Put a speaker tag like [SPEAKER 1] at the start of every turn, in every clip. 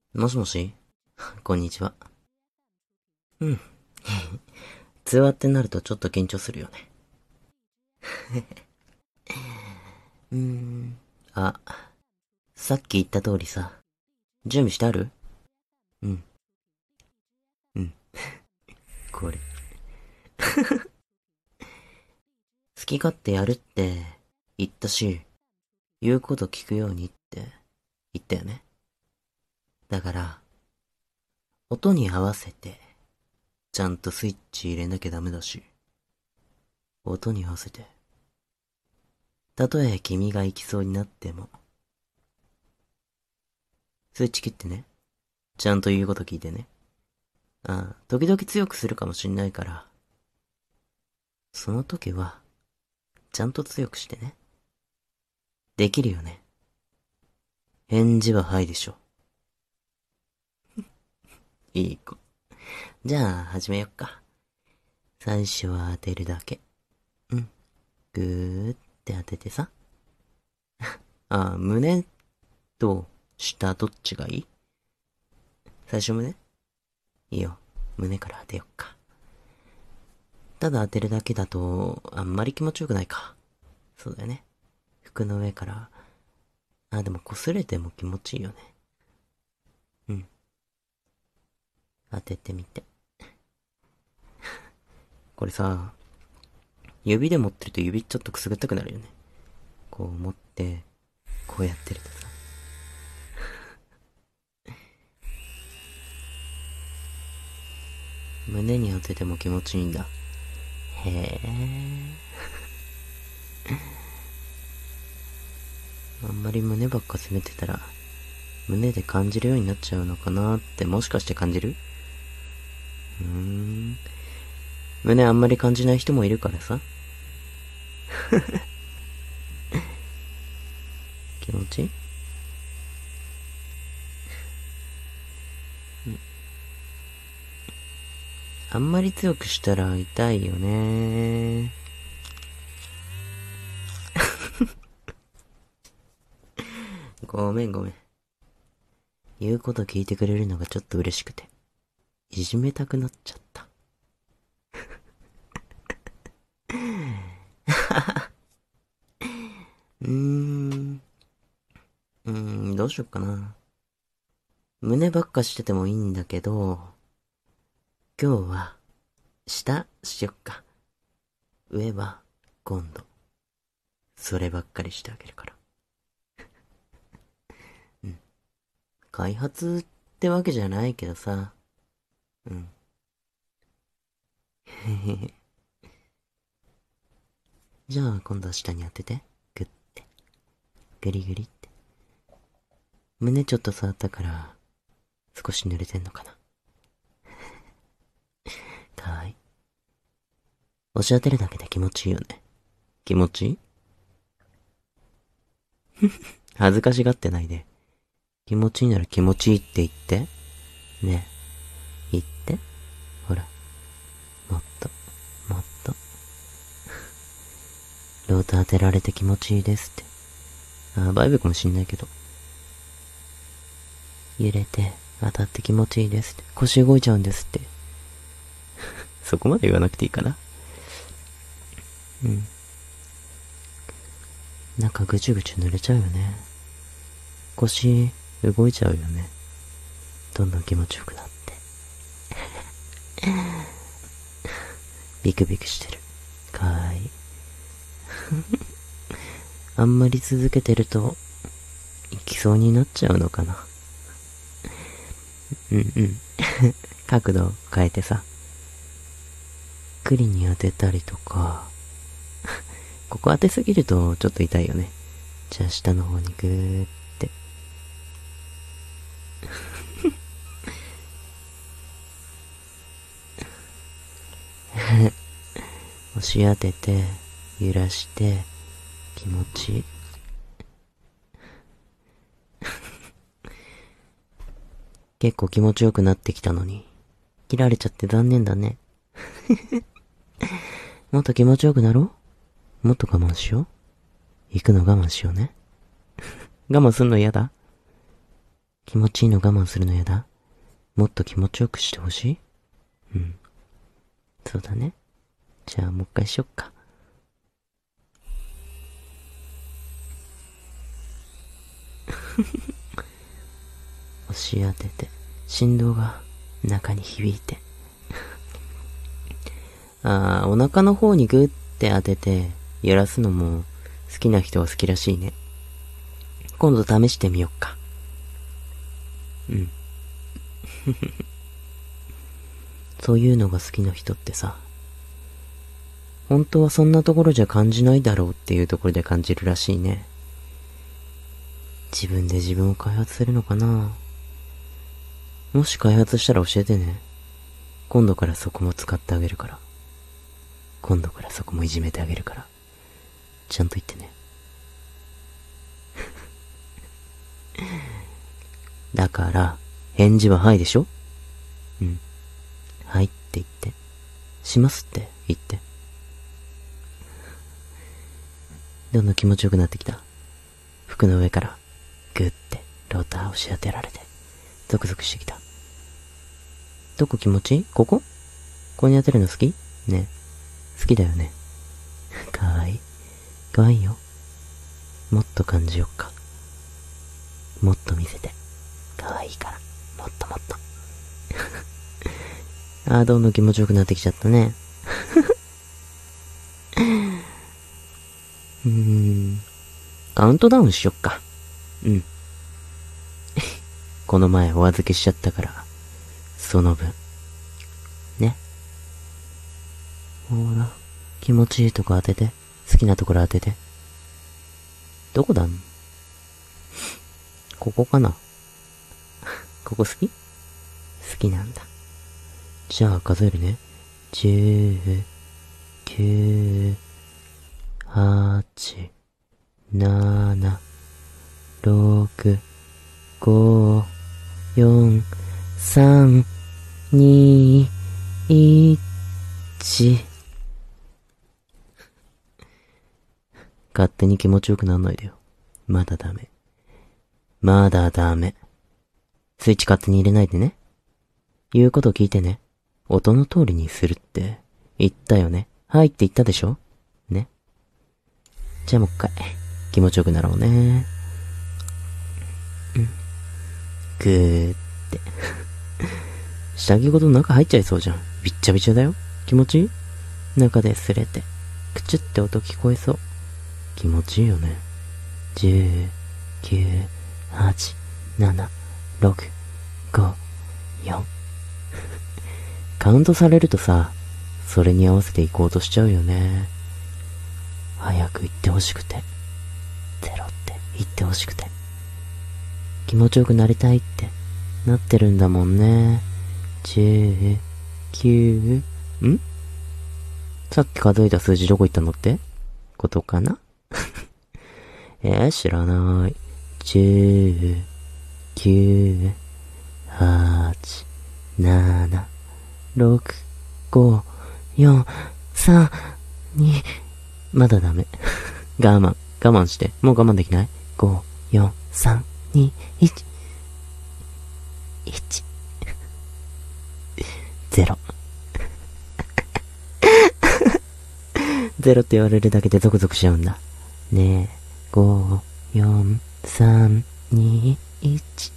[SPEAKER 1] もしもしこんにちは。うん。通話ってなるとちょっと緊張するよね。うーん。あ、さっき言った通りさ、準備してある？うん。うん。これ。好き勝手やるって言ったし、言うこと聞くようにって言ったよね。だから、音に合わせて、ちゃんとスイッチ入れなきゃダメだし、音に合わせて、たとえ君が行きそうになっても、スイッチ切ってね。ちゃんと言うこと聞いてね。時々強くするかもしんないから、その時は、ちゃんと強くしてね。できるよね。返事ははいでしょ。いい子。じゃあ、始めよっか。最初は当てるだけ。うん。ぐーって当ててさ。胸と下どっちがいい？最初胸？いいよ。胸から当てよっか。ただ当てるだけだと、あんまり気持ちよくないか。そうだよね。服の上から、でも擦れても気持ちいいよね。うん。当ててみて。これさ、指で持ってると指ちょっとくすぐったくなるよね。こう持って、こうやってるとさ。胸に当てても気持ちいいんだ。へえ。あんまり胸ばっか攻めてたら、胸で感じるようになっちゃうのかなってもしかして感じる？胸あんまり感じない人もいるからさ。気持ちいい？あんまり強くしたら痛いよね。ごめんごめん。言うこと聞いてくれるのがちょっと嬉しくて、いじめたくなっちゃった。うーん。どうしよっかな。胸ばっかしててもいいんだけど、今日は、下しよっか。上は、今度、そればっかりしてあげるから。うん。開発ってわけじゃないけどさ。うん。へへへ。じゃあ今度は下に当てて。グッて。グリグリって。胸ちょっと触ったから、少し濡れてんのかな。かわいい。押し当てるだけで気持ちいいよね。気持ちいい？恥ずかしがってないで。気持ちいいなら気持ちいいって言って。ねえ、言って。ほら、もっと、もっと。ローター当てられて気持ちいいですって。バイブかもしんないけど。揺れて、当たって気持ちいいですって。腰動いちゃうんですって。そこまで言わなくていいかな。うん。なんかぐちゅぐちゅ濡れちゃうよね。腰、動いちゃうよね。どんどん気持ちよくなって。ビクビクしてる。かわいい。あんまり続けてると、行きそうになっちゃうのかな。うんうん。角度変えてさ、栗に当てたりとか、ここ当てすぎるとちょっと痛いよね。じゃあ下の方にグーって。押し当てて、揺らして、気持ちいい。結構気持ちよくなってきたのに、切られちゃって残念だね。もっと気持ちよくなろう？もっと我慢しよう？行くの我慢しようね。我慢すんの嫌だ？ 気持ちいいの我慢するのやだ？もっと気持ちよくしてほしい？うん。そうだね。じゃあもう一回しよっか。押し当てて、振動が中に響いて。お腹の方にグッて当てて、揺らすのも好きな人は好きらしいね。今度試してみよっか。うん。そういうのが好きな人ってさ、本当はそんなところじゃ感じないだろうっていうところで感じるらしいね。自分で自分を開発するのかな？もし開発したら教えてね。今度からそこも使ってあげるから。今度からそこもいじめてあげるから。ちゃんと言ってね。だから、返事ははいでしょ？うん。はいって言って。しますって言って。どんどん気持ちよくなってきた。服の上から、ぐってローターを押し当てられて、ゾクゾクしてきた。どこ気持ちいい？ここ？ここに当てるの好き？ね。好きだよね。かわいい。かわいいよ。もっと感じよっか。もっと見せて。かわいいから。もっともっと。どんどん気持ちよくなってきちゃったね。カウントダウンしよっか。うん。この前お預けしちゃったから、その分。ね。ほら、気持ちいいとこ当てて。好きなところ当てて。どこだん？ここかな？ここ好き？好きなんだ。じゃあ数えるね。10、9、8、7、6、5、4、3、2、1。勝手に気持ちよくなんないでよ。まだダメ。まだダメ。スイッチ勝手に入れないでね。言うこと聞いてね。音の通りにするって言ったよね。はいって言ったでしょ？ね。じゃあもう一回気持ちよくなろうね。ぐーって下着ごと中入っちゃいそうじゃん。びっちゃびちゃだよ。気持ちいい？中で擦れてクチュって音聞こえそう。気持ちいいよね。10、9、8、7、6、5、4。カウントされるとさ、それに合わせて行こうとしちゃうよね。早く行ってほしくて、ゼロって言ってほしくて、気持ちよくなりたいってなってるんだもんね。10、9、さっき数えた数字どこ行ったのってことかな？知らない。10、9、8、7、6、5、4、3、2、まだダメ。我慢して。もう我慢できない？ 5、4、3、2、1、1、0。ゼロって言われるだけでゾクゾクしちゃうんだ。ねえ。5、4、3、2、1。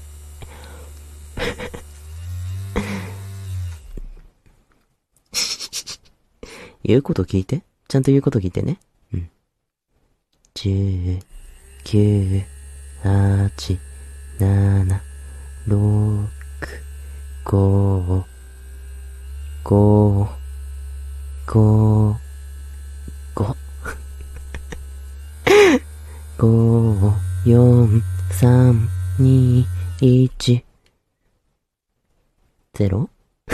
[SPEAKER 1] 言うこと聞いて。ちゃんと言うこと聞いてね。10、9、8、7、6、5、5、5、5、5、4、3、2、1、0？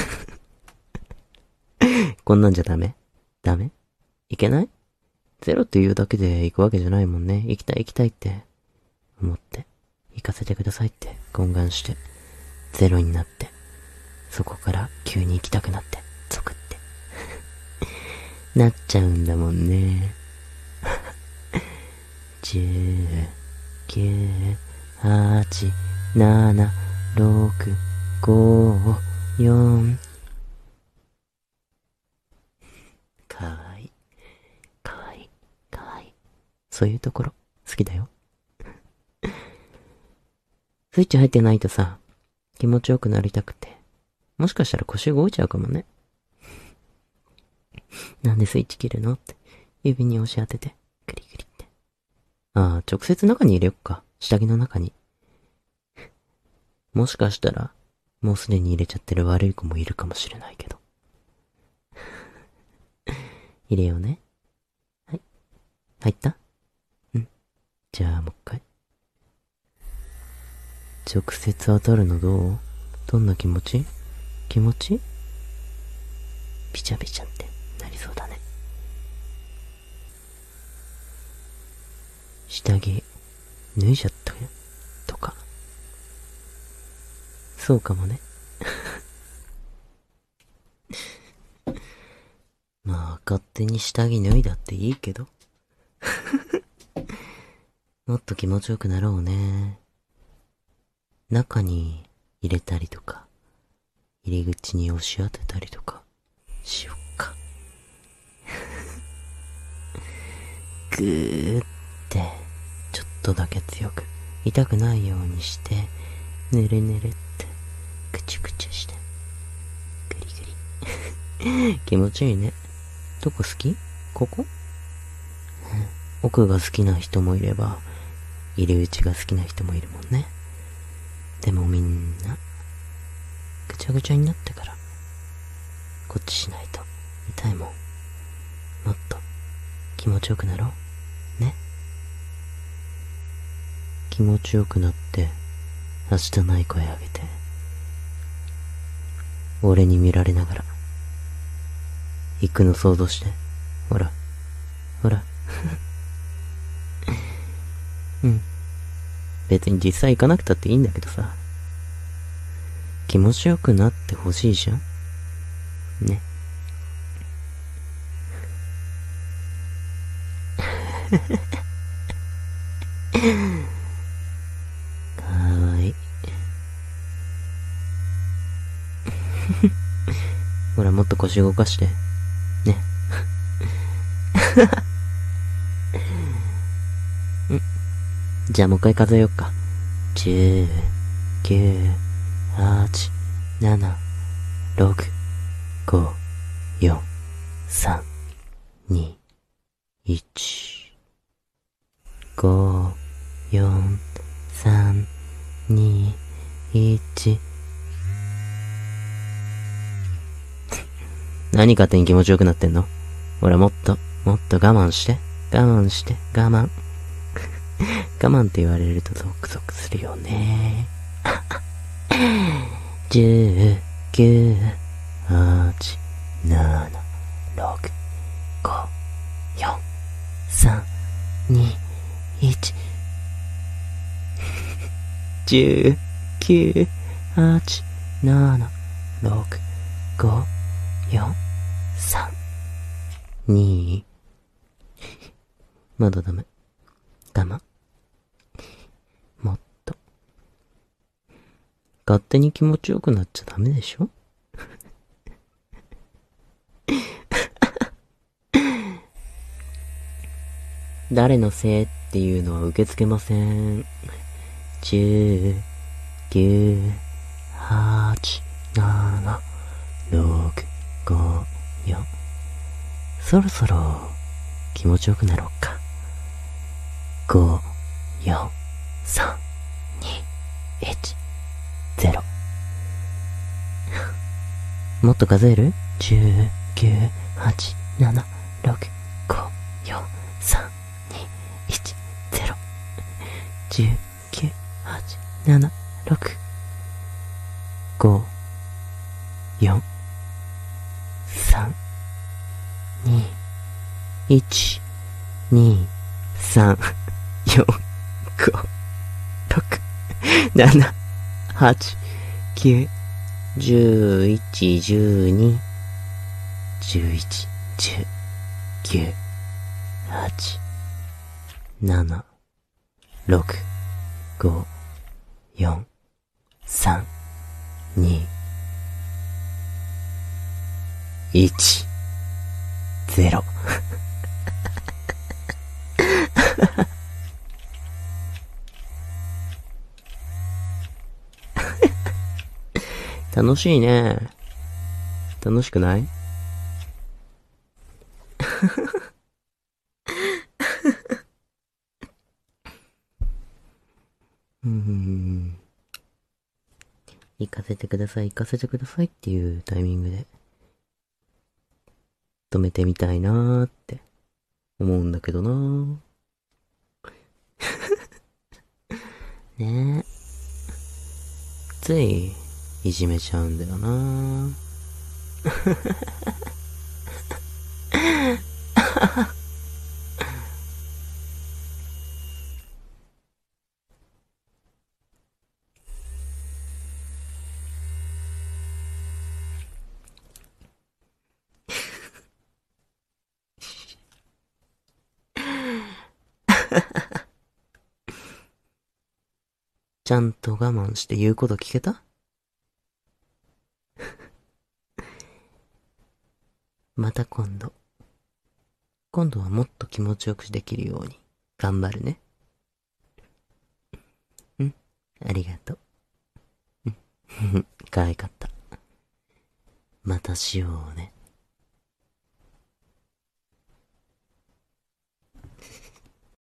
[SPEAKER 1] こんなんじゃダメ？ダメ？いけない？ゼロって言うだけで行くわけじゃないもんね。行きたいって思って、行かせてくださいって懇願して、ゼロになって、そこから急に行きたくなって、ゾクって。なっちゃうんだもんね。10、9、8、 7、6、5、4。かわいい。かわいい。かわいい。そういうところ、好きだよ。スイッチ入ってないとさ、気持ちよくなりたくて。もしかしたら腰動いちゃうかもね。なんでスイッチ切るのって、指に押し当てて、クリクリって。ああ、直接中に入れよっか。下着の中に。もしかしたら、もうすでに入れちゃってる悪い子もいるかもしれないけど。入れようね。はい。入った？うん。じゃあもう一回。直接当たるのどんな気持ち？気持ち？ビチャビチャってなりそうだね。下着、脱いじゃったよ。とか。そうかもね。まあ、勝手に下着脱いだっていいけど。もっと気持ちよくなろうね。中に入れたりとか、入り口に押し当てたりとか、しよっか。ぐーって、ちょっとだけ強く、痛くないようにして、ぬるぬるって、くちゅくちゅして、ぐりぐり。気持ちいいね。どこ好き？ここ？奥が好きな人もいれば、入り口が好きな人もいるもんね。でもみんな、ぐちゃぐちゃになってから、こっちしないと痛いもん。もっと気持ちよくなろう。ね。気持ちよくなって、明日ない声あげて。俺に見られながら、行くの想像して。ほら、ほら。うん。別に実際行かなくたっていいんだけどさ。気持ちよくなってほしいじゃんね。かわいい。ほら、もっと腰動かして。ね。じゃあもう一回数えよっか。10、9、8、7、6、5、4、3、2、1。5、4、3、2、1。何勝手に気持ちよくなってんの？ほら、もっと我慢して。我慢して、我慢。我慢って言われるとゾクゾクするよね。10、9、8、7、6、5、4、3、2、1。10、9、8、7、6、5、4、3、2。まだダメ。我慢。もっと。勝手に気持ちよくなっちゃダメでしょ？誰のせいっていうのは受け付けません。10、9、8、7、6、5、4。そろそろ気持ちよくなろうか。5、4、3、2、1、0。もっと数える？ 10、9、8、7、6、5、4、3、2、1、0。10、9、8、7、6、5、4、3、2、1、2、3、4、5、6、7、8、9、11、12、11、10、9、8、7、6、5、4、 3、2、1、0。楽しいね。楽しくない？行かせてください、行かせてくださいっていうタイミングで止めてみたいなーって思うんだけどなー。ねえ。つい、いじめちゃうんだよなー。ちゃんと我慢して言うこと聞けた？また今度はもっと気持ちよくできるように頑張るね。ありがとう。可愛かった。またしようね。